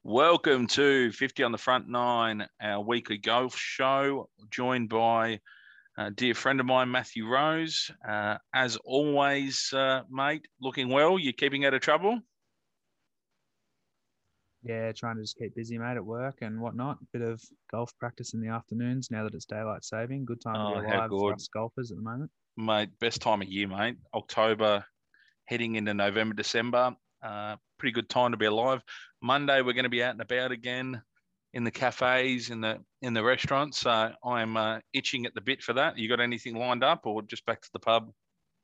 Welcome to 50 on the Front Nine, our weekly golf show, joined by a dear friend of mine, Matthew Rose. As always, mate, looking well. You keeping out of trouble? Yeah, trying to just keep busy, mate, at work and whatnot. Bit of golf practice in the afternoons now that it's daylight saving. Good time to be Oh, how alive for good. us golfers at the moment. Mate, best time of year, mate. October, heading into November, December. Pretty good time to be alive. Monday, we're going to be out and about again in the cafes, in the restaurants. So I'm itching at the bit for that. You got anything lined up or just back to the pub?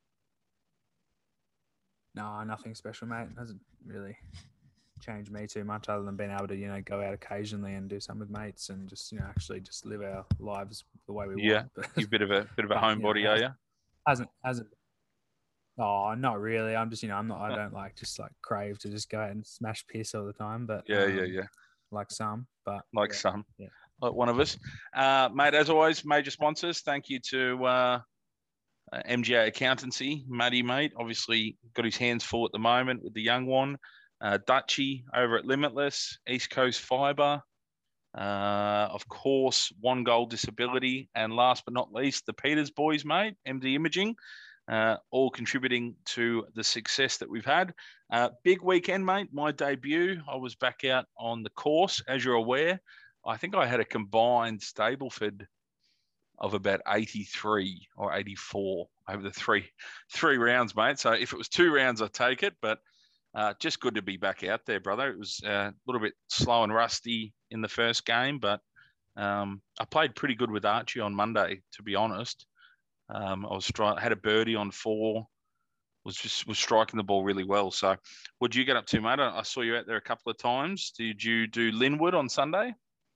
No, nothing special, mate. Hasn't really changed me too much other than being able to, go out occasionally and do something with mates and just, actually just live our lives the way we Yeah, want. But, you're a bit of a but homebody, are you? hasn't. Oh, not really. I'm just, I'm not. I don't just like crave to just go out and smash piss all the time. But Yeah. like some. But Like yeah, some, yeah. like one of us. Mate, as always, major sponsors. Thank you to MGA Accountancy, Matty, mate. Obviously, got his hands full at the moment with the young one. Dutchy over at Limitless, East Coast Fibre. Of course, One Goal Disability. And last but not least, the Peters boys, mate, MD Imaging. All contributing to the success that we've had. Big weekend, mate. My debut. I was back out on the course, as you're aware. I think I had a combined Stableford of about 83 or 84 over the three rounds, mate. So if it was 2 rounds, I'd take it. But just good to be back out there, brother. It was a little bit slow and rusty in the first game, but I played pretty good with Archie on Monday, to be honest. Had a birdie on 4. Was striking the ball really well. So, what did you get up to, mate? I saw you out there a couple of times. Did you do Linwood on Sunday?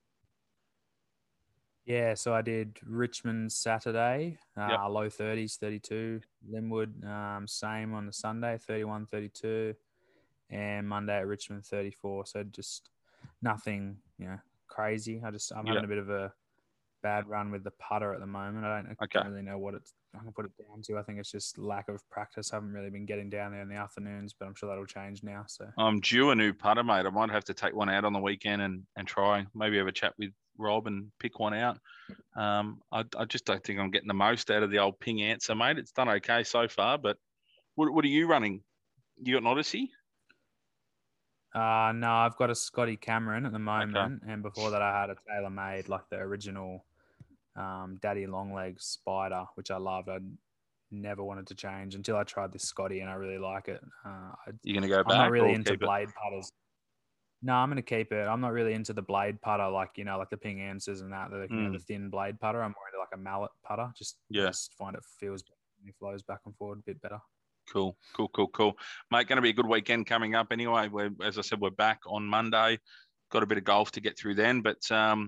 Yeah, so I did Richmond Saturday, Yep. low 30s, 32. Linwood, same on the Sunday, 31, 32. And Monday at Richmond, 34. So just nothing, crazy. I'm Yeah. having a bit of a bad run with the putter at the moment. I Okay. don't really know what I can put it down to. I think it's just lack of practice. I haven't really been getting down there in the afternoons, but I'm sure that'll change now. So I'm due a new putter, mate. I might have to take one out on the weekend and try. Maybe have a chat with Rob and pick one out. I just don't think I'm getting the most out of the old Ping Answer, mate. It's done okay so far, but what are you running? You got an Odyssey? No, I've got a Scotty Cameron at the Okay. moment, and before that, I had a TaylorMade, like the original Daddy Longlegs Spider, which I loved. I never wanted to change until I tried this Scotty, and I really like it. You going to go I'm not back really or into keep it? blade putters. No, I'm going to keep it. I'm not really into the blade putter, like the Ping Answers and that, the thin blade putter. I'm more into like a mallet putter. Yeah. Just find it feels better and it flows back and forward a bit better. Cool. Mate, going to be a good weekend coming up anyway. As I said, we're back on Monday. Got a bit of golf to get through then, but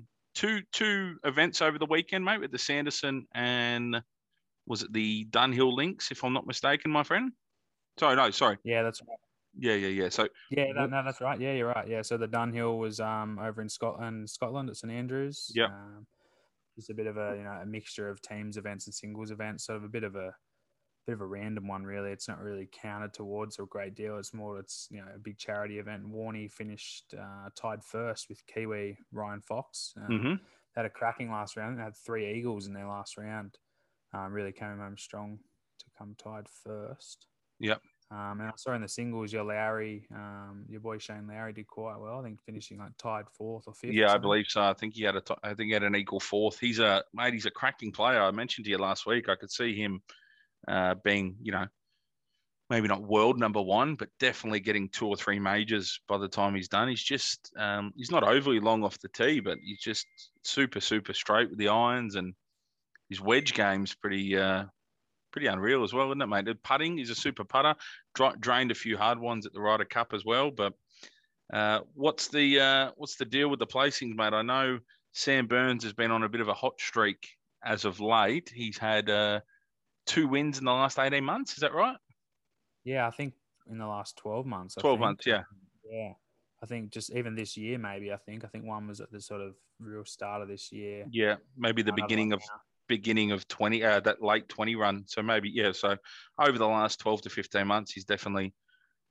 two events over the weekend, mate, with the Sanderson and was it the Dunhill Links, if I'm not mistaken, my friend? Sorry, no, sorry. Yeah, that's right. Yeah. So, Yeah, no, that's right. Yeah, you're right. Yeah, so the Dunhill was over in Scotland at St Andrews. yeah, Just a bit of a mixture of teams events and singles events, sort of a bit of a random one, really. It's not really counted towards a great deal. It's a big charity event. Warney finished tied first with Kiwi Ryan Fox. Had a cracking last round. They had 3 eagles in their last round. Really came home strong to come tied first. Yep. And I saw in the singles, your boy Shane Lowry did quite well. I think finishing like tied 4th or 5th. Yeah, or I believe so. I think he had an equal 4th. He's a cracking player. I mentioned to you last week. I could see him being, maybe not world number 1, but definitely getting 2 or 3 majors by the time he's done. He's just he's not overly long off the tee, but he's just super straight with the irons, and his wedge game's pretty unreal as well, isn't it, mate? The putting, he's a super putter. Drained a few hard ones at the Ryder Cup as well. But what's the deal with the placings, mate? I know Sam Burns has been on a bit of a hot streak as of late. He's had 2 wins in the last 18 months. Is that right? Yeah, I think in the last 12 months. 12 months, yeah. Yeah. I think just even this year, maybe. I think one was at the sort of real start of this year. Yeah, maybe the beginning of 20, that late 20 run. So maybe, yeah. So over the last 12 to 15 months, he's definitely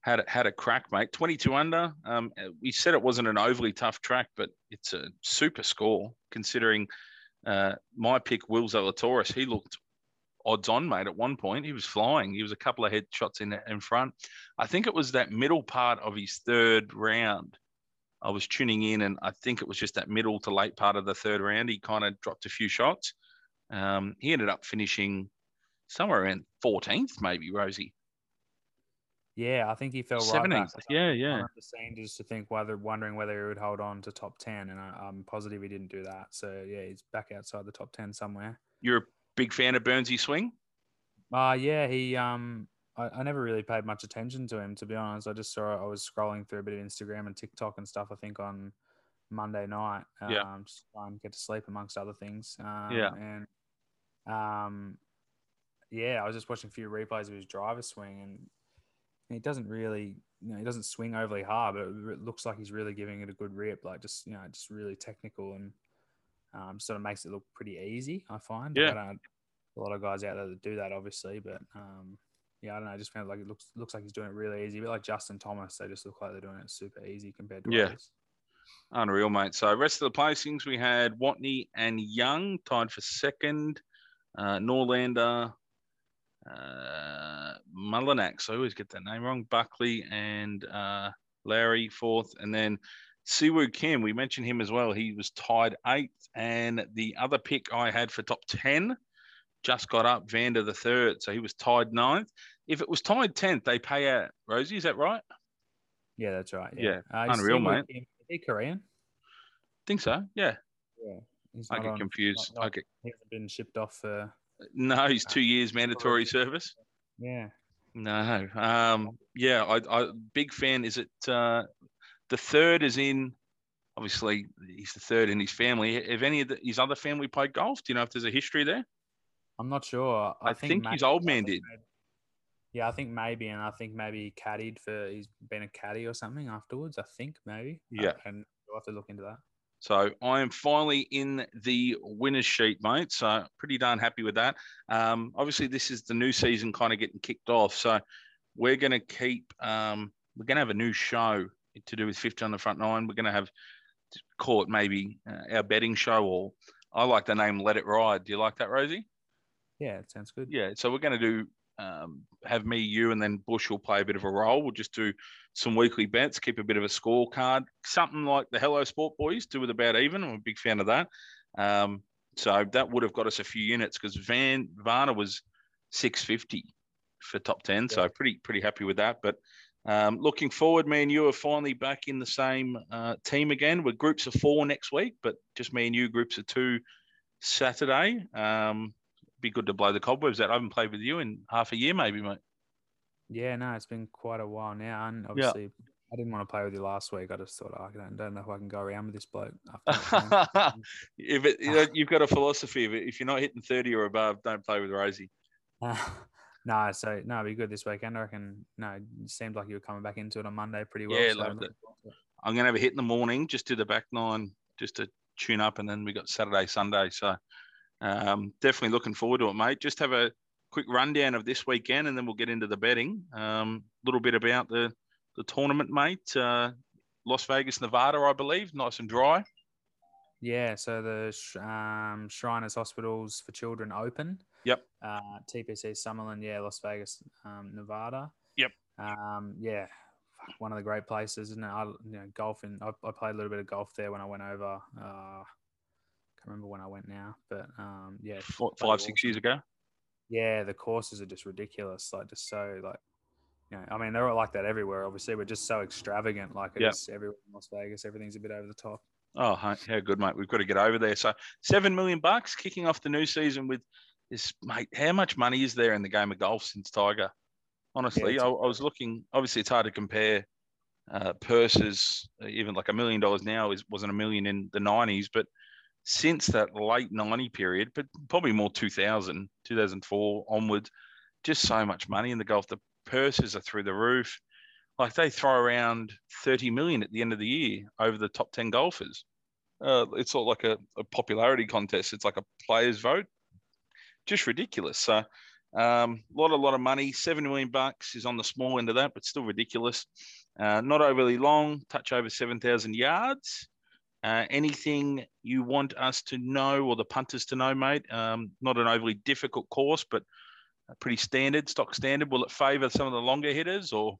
had a crack, mate. 22 under. We said it wasn't an overly tough track, but it's a super score considering my pick, Will Zalatoris. He looked odds on, mate. At one point, he was flying. He was a couple of head shots in front. I think it was that middle part of his third round. I was tuning in, and I think it was just that middle to late part of the third round. He kind of dropped a few shots. He ended up finishing somewhere around 14th, maybe, Rosie. Yeah, I think he fell 17th. right back. Yeah. On the scene just to think wondering whether he would hold on to top 10, and I'm positive he didn't do that. So yeah, he's back outside the top 10 somewhere. You're a big fan of Burnsy swing? Yeah, he I never really paid much attention to him, to be honest. I just saw I was scrolling through a bit of Instagram and TikTok and stuff, I think on Monday night. Just try and get to sleep amongst other things. And I was just watching a few replays of his driver swing, and he doesn't really, he doesn't swing overly hard, but it looks like he's really giving it a good rip, like just really technical, and sort of makes it look pretty easy, I find. Yeah. Like, I don't, a lot of guys out there that do that, obviously, but I don't know. I just found like it looks like he's doing it really easy. A bit like Justin Thomas, they just look like they're doing it super easy compared to others. Unreal, mate. So rest of the placings, we had Watney and Young tied for second. Norlander, Mullinax, I always get that name wrong. Buckley and Lowry fourth, and then Siwoo Kim, we mentioned him as well. He was tied 8th, and the other pick I had for top 10 just got up, Vander the third, so he was tied 9th. If it was tied 10th, they pay out. Rosie, is that right? Yeah, that's right. Yeah. Unreal, mate. Is he Korean? Think so. Yeah. Yeah. I get confused. He hasn't been shipped off for. No, he's 2 years mandatory service. Yeah. No. I big fan. Is it the third is in? Obviously, he's the third in his family. Have any of his other family played golf? Do you know if there's a history there? I'm not sure. I think his old man did. Yeah, I think maybe, and I think maybe caddied he's been a caddy or something afterwards. I think maybe. Yeah. And we'll have to look into that. So I am finally in the winner's sheet, mate. So pretty darn happy with that. Obviously, this is the new season kind of getting kicked off. So we're going to keep, we're going to have a new show to do with 50 on the front nine. We're going to have, call it maybe our betting show, or I like the name Let It Ride. Do you like that, Rosie? Yeah, it sounds good. Yeah, so we're going to do, have me, you, and then Bush will play a bit of a role. We'll just do some weekly bets, keep a bit of a scorecard, something like the Hello Sport Boys do with About Even. I'm a big fan of that. So that would have got us a few units because Varner was 650 for top 10. Yeah. So pretty happy with that. But looking forward, me and you are finally back in the same team again. We're groups of 4 next week, but just me and you, groups of 2 Saturday. Be good to blow the cobwebs out. I haven't played with you in half a year, maybe, mate. Yeah, no, it's been quite a while now. And obviously, I didn't want to play with you last week. I just thought, I don't know if I can go around with this bloke. You've got a philosophy of it. If you're not hitting 30 or above, don't play with Rosie. It'd be good this weekend. I reckon, it seemed like you were coming back into it on Monday pretty well. Yeah, loved it. I'm going to have a hit in the morning, just do the back 9, just to tune up, and then we got Saturday, Sunday. So definitely looking forward to it, mate. Just have a quick rundown of this weekend, and then we'll get into the betting. A little bit about the tournament, mate. Las Vegas, Nevada, I believe, nice and dry. Yeah, so the Shriners Hospitals for Children Open. Yep. TPC Summerlin, Las Vegas, Nevada. Yep. One of the great places, isn't it? Golfing. I played a little bit of golf there when I went over. Can't remember when I went now, but 5-6 years ago. Yeah, the courses are just ridiculous. Like, just so they're all like that everywhere. Obviously, we're just so extravagant. Like, it's everywhere in Las Vegas. Everything's a bit over the top. Oh, how good, mate. We've got to get over there. So $7 million kicking off the new season with this, mate. How much money is there in the game of golf since Tiger? Honestly, I was looking. Obviously, it's hard to compare purses. Even like $1 million now wasn't $1 million in the 90s, but since that late 90 period, but probably more 2000, 2004 onwards, just so much money in the golf. The purses are through the roof. Like, they throw around 30 million at the end of the year over the top 10 golfers. It's sort of like a popularity contest. It's like a player's vote. Just ridiculous. So Lot of money. $7 million is on the small end of that, but still ridiculous. Not overly long, touch over 7,000 yards. Anything you want us to know or the punters to know, mate? Not an overly difficult course, but pretty standard, stock standard. Will it favour some of the longer hitters or?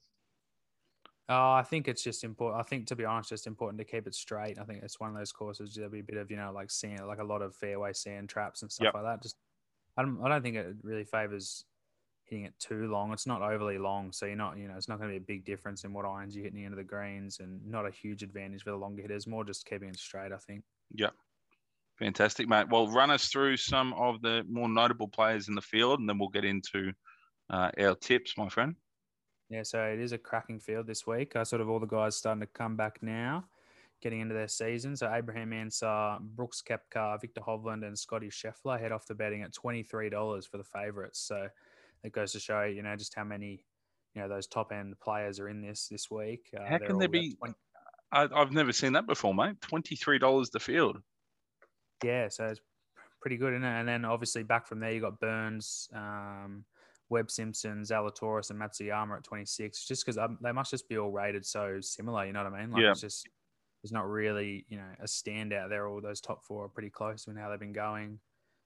I think it's just important. I think, to be honest, just important to keep it straight. I think it's one of those courses there'll be a bit of, like sand, like a lot of fairway sand traps and stuff like that. Just, I don't think it really favours hitting it too long. It's not overly long, so you're not, it's not going to be a big difference in what irons you're hitting into the greens, and not a huge advantage for the longer hitters. More just keeping it straight, I think. Yeah. Fantastic, mate. Well, run us through some of the more notable players in the field, and then we'll get into our tips, my friend. Yeah, so it is a cracking field this week. Sort of all the guys starting to come back now, getting into their season. So Abraham Ansah, Brooks Koepka, Victor Hovland, and Scotty Scheffler head off the betting at $23 for the favourites. So it goes to show, just how many, those top end players are in this week. How can there be? I've never seen that before, mate. $23 the field. Yeah, so it's pretty good, isn't it? And then obviously back from there, you got Burns, Webb Simpson, Zalatoris, and Matsuyama at 26. Just because they must just be all rated so similar. You know what I mean? Like it's just there's not really a standout there. All those top four are pretty close in how they've been going.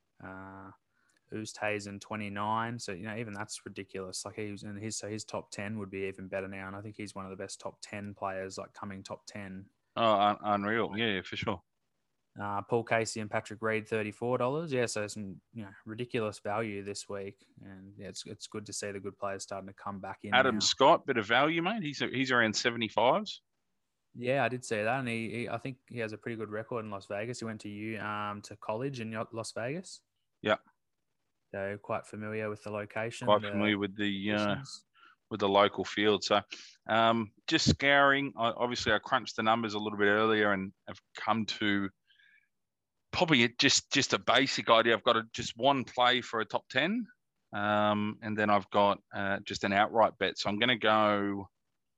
Oosthuizen 29. So even that's ridiculous. Like his top 10 would be even better now, and I think he's one of the best top 10 players, like coming top 10. Oh, unreal! Yeah, for sure. Paul Casey and Patrick Reed, $34. Yeah, so some ridiculous value this week, and yeah, it's good to see the good players starting to come back in. Adam Scott, bit of value, mate. He's around 75s. Yeah, I did see that, and he I think he has a pretty good record in Las Vegas. He went to college in Las Vegas. Yeah, so quite familiar with the location. Quite familiar with the local field. So, just scouring. Obviously, I crunched the numbers a little bit earlier and have come to probably just a basic idea. I've got just one play for a top 10, and then I've got just an outright bet. So I'm going to go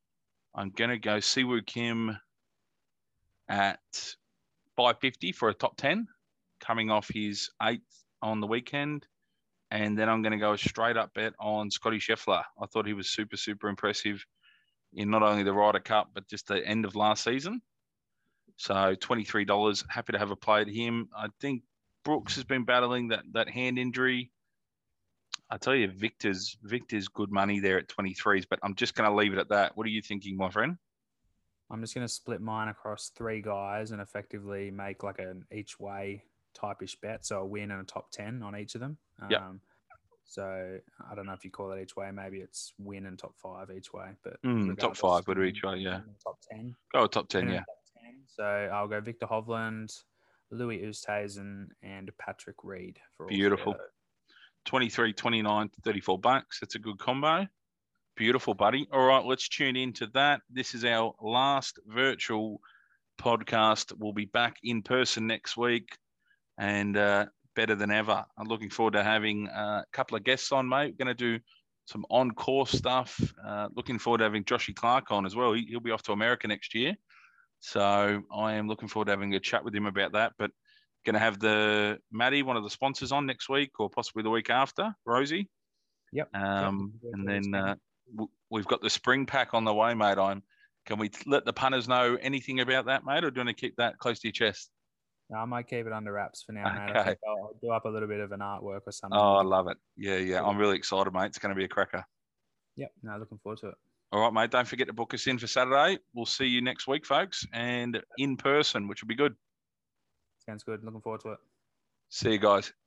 Siwoo Kim at 550 for a top 10, coming off his 8th on the weekend. And then I'm going to go a straight up bet on Scotty Scheffler. I thought he was super, super impressive in not only the Ryder Cup, but just the end of last season. So $23, happy to have a play at him. I think Brooks has been battling that hand injury. I tell you, Victor's good money there at 23s, but I'm just going to leave it at that. What are you thinking, my friend? I'm just going to split mine across 3 guys and effectively make like an each way type-ish bet. So a win and a top 10 on each of them. Yeah. So I don't know if you call that each way. Maybe it's win and top 5 each way. But top 5 would be each way, yeah. Top 10. Go top 10, yeah. Top 10. So I'll go Victor Hovland, Louis Oosthuizen, and Patrick Reed. For beautiful. 23, 29, $34. That's a good combo. Beautiful, buddy. All right, let's tune into that. This is our last virtual podcast. We'll be back in person next week, and better than ever. I'm looking forward to having a couple of guests on, mate. We're going to do some on-course stuff. Looking forward to having Joshy Clark on as well. He'll be off to America next year. So I am looking forward to having a chat with him about that. But going to have Maddie, one of the sponsors, on next week or possibly the week after, Rosie. Yep. And then we've got the spring pack on the way, mate. Can we let the punters know anything about that, mate, or do you want to keep that close to your chest? No, I might keep it under wraps for now, mate. Okay. I think I'll do up a little bit of an artwork or something. Oh, I love it. Yeah. I'm really excited, mate. It's going to be a cracker. Yep. No, looking forward to it. All right, mate. Don't forget to book us in for Saturday. We'll see you next week, folks, and in person, which will be good. Sounds good. Looking forward to it. See you guys.